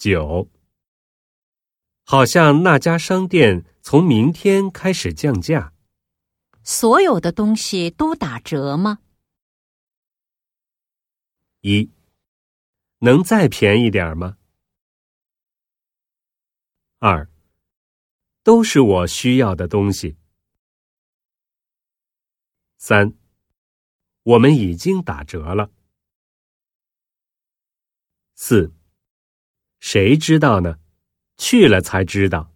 9. 好像那家商店从明天开始降价。 所有的东西都打折吗 1. 能再便宜点吗？ 2. 都是我需要的东西。3. 我们已经打折了。4. 谁知道呢？去了才知道。